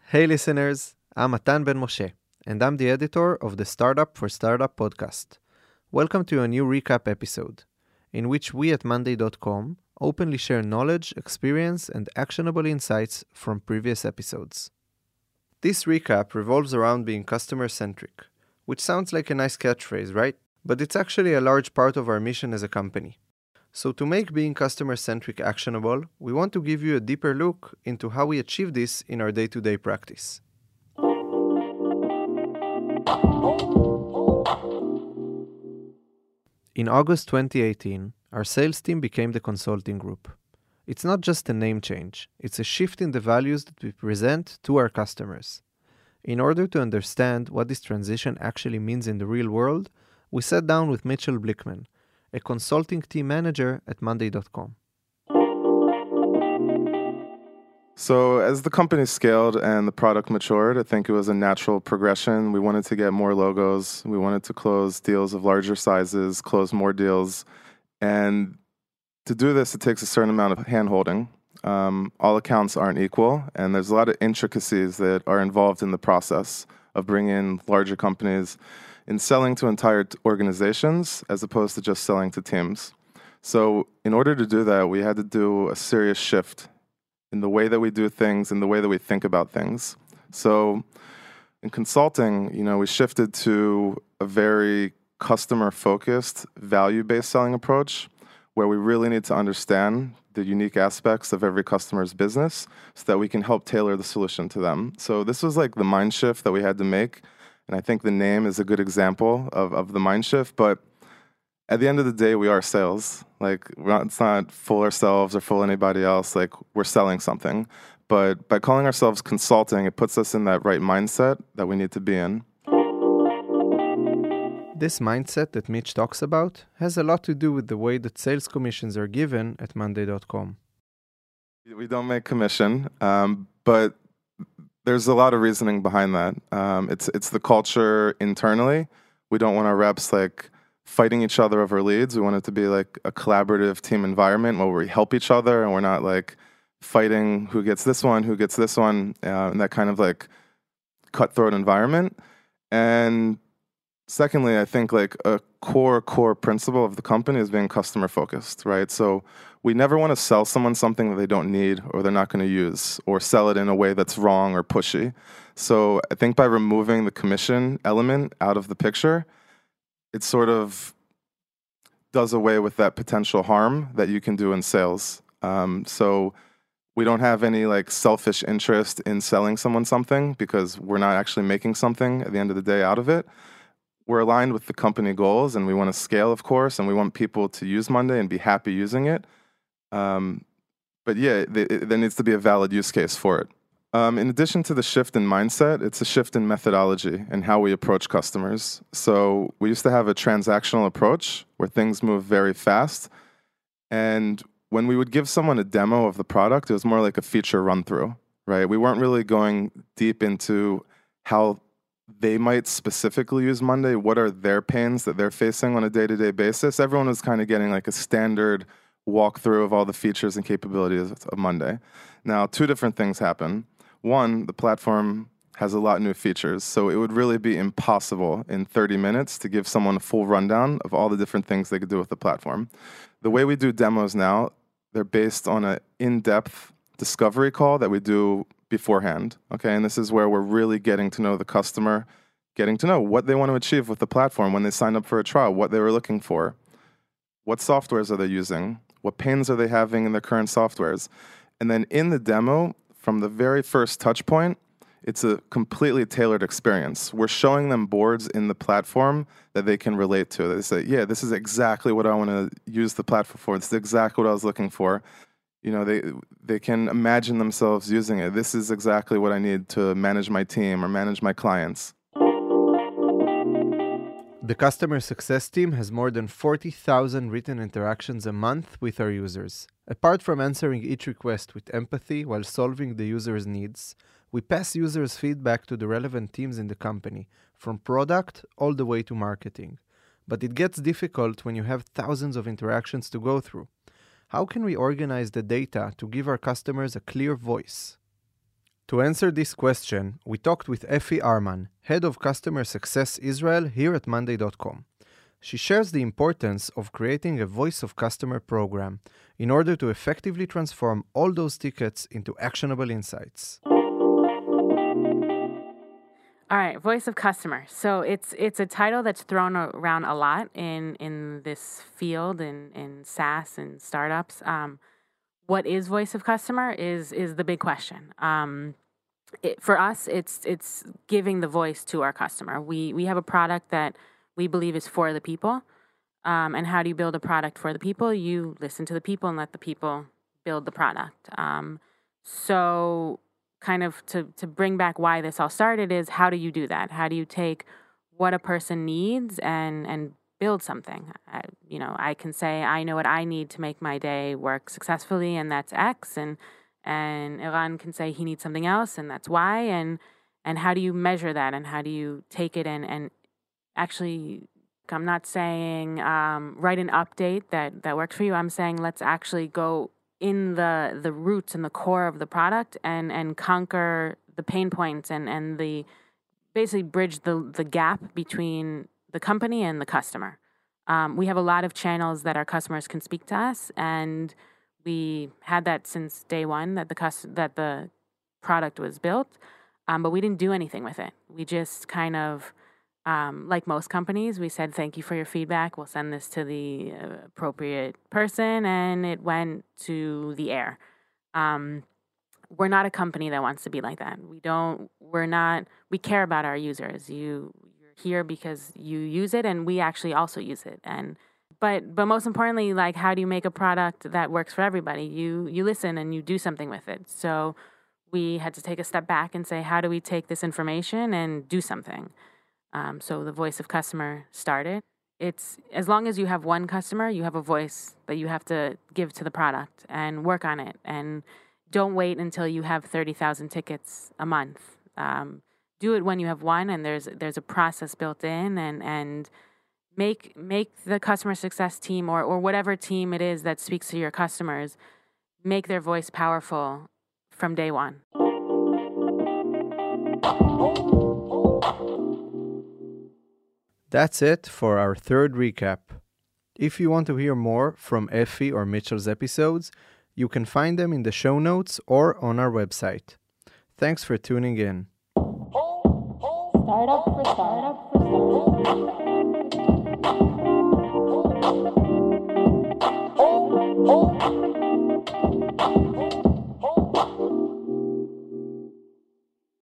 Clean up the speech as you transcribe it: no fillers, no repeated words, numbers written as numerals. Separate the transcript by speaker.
Speaker 1: Hey listeners, I'm Matan Ben Moshe, and I'm the editor of the Startup for Startup podcast. Welcome to a new recap episode, in which we at Monday.com openly share knowledge, experience, and actionable insights from previous episodes. This recap revolves around being customer-centric, which sounds like a nice catchphrase, right? But it's actually a large part of our mission as a company. So to make being customer-centric actionable, we want to give you a deeper look into how we achieve this in our day-to-day practice. In August 2018, our sales team became the consulting group. It's not just a name change, it's a shift in the values that we present to our customers. In order to understand what this transition actually means in the real world, we sat down with Mitchell Blickman, a consulting team manager at Monday.com.
Speaker 2: So as the company scaled and the product matured, I think it was a natural progression. We wanted to get more logos. We wanted to close deals of larger sizes, close more deals. And to do this, it takes a certain amount of hand-holding. All accounts aren't equal, and there's a lot of intricacies that are involved in the process of bringing in larger companies in selling to entire organizations as opposed to just selling to teams. So in order to do that, we had to do a serious shift in the way that we do things, in the way that we think about things. So in consulting, we shifted to a very customer-focused, value-based selling approach where we really need to understand the unique aspects of every customer's business so that we can help tailor the solution to them. So this was like the mind shift that we had to make. And I think the name is a good example of the mind shift. But at the end of the day, we are sales. It's not fool ourselves or fool anybody else. We're selling something. But by calling ourselves consulting, it puts us in that right mindset that we need to be in.
Speaker 1: This mindset that Mitch talks about has a lot to do with the way that sales commissions are given at Monday.com.
Speaker 2: We don't make commission, but there's a lot of reasoning behind that. It's the culture internally. We don't want our reps fighting each other over leads. We want it to be like a collaborative team environment where we help each other and we're not fighting who gets this one, in that kind of cutthroat environment. And secondly, I think a core principle of the company is being customer focused, right? So we never want to sell someone something that they don't need or they're not going to use or sell it in a way that's wrong or pushy. So I think by removing the commission element out of the picture, it sort of does away with that potential harm that you can do in sales. So we don't have any selfish interest in selling someone something because we're not actually making something at the end of the day out of it. We're aligned with the company goals and we want to scale, of course, and we want people to use Monday and be happy using it. But yeah, there needs to be a valid use case for it. In addition to the shift in mindset, it's a shift in methodology and how we approach customers. So we used to have a transactional approach where things move very fast. And when we would give someone a demo of the product, it was more like a feature run-through, right? We weren't really going deep into how they might specifically use Monday. What are their pains that they're facing on a day-to-day basis? Everyone was kind of getting a standard walkthrough of all the features and capabilities of Monday. Now, two different things happen. One, the platform has a lot of new features, so it would really be impossible in 30 minutes to give someone a full rundown of all the different things they could do with the platform. The way we do demos now, they're based on an in-depth discovery call that we do beforehand, okay? And this is where we're really getting to know the customer, getting to know what they want to achieve with the platform when they sign up for a trial, what they were looking for, what softwares are they using, what pains are they having in their current softwares. And then in the demo, from the very first touch point, it's a completely tailored experience. We're showing them boards in the platform that they can relate to. They say, yeah, this is exactly what I want to use the platform for. This is exactly what I was looking for. They can imagine themselves using it. This is exactly what I need to manage my team or manage my clients.
Speaker 1: The customer success team has more than 40,000 written interactions a month with our users. Apart from answering each request with empathy while solving the user's needs, we pass users' feedback to the relevant teams in the company, from product all the way to marketing. But it gets difficult when you have thousands of interactions to go through. How can we organize the data to give our customers a clear voice? To answer this question, we talked with Effie Arman, Head of Customer Success Israel here at Monday.com. She shares the importance of creating a Voice of Customer program in order to effectively transform all those tickets into actionable insights.
Speaker 3: All right, Voice of Customer. So it's a title that's thrown around a lot in this field, in SaaS and startups. What is Voice of Customer is the big question. For us, it's giving the voice to our customer. We have a product that we believe is for the people. And how do you build a product for the people? You listen to the people and let the people build the product. So kind of to bring back why this all started is, how do you do that? How do you take what a person needs and build something? I can say, I know what I need to make my day work successfully, and that's X, and Eran can say he needs something else, and that's Y, and how do you measure that, and how do you take it and actually, I'm not saying write an update that works for you. I'm saying let's actually go in the roots and the core of the product and conquer the pain points and the basically bridge the gap between the company and the customer. We have a lot of channels that our customers can speak to us, and we had that since day one that the product was built, but we didn't do anything with it. We just kind of, like most companies, we said, thank you for your feedback. We'll send this to the appropriate person, and it went to the air. We're not a company that wants to be like that. We care about our users. You're here because you use it, and we actually also use it. But most importantly, like, how do you make a product that works for everybody? You listen and you do something with it. So we had to take a step back and say, how do we take this information and do something? So the Voice of Customer started. It's, as long as you have one customer, you have a voice that you have to give to the product and work on it. And don't wait until you have 30,000 tickets a month. Do it when you have one, and there's a process built in, and make the customer success team or whatever team it is that speaks to your customers, make their voice powerful from day one.
Speaker 1: That's it for our third recap. If you want to hear more from Effie or Mitchell's episodes, you can find them in the show notes or on our website. Thanks for tuning in.
Speaker 3: Startup for startup for startup.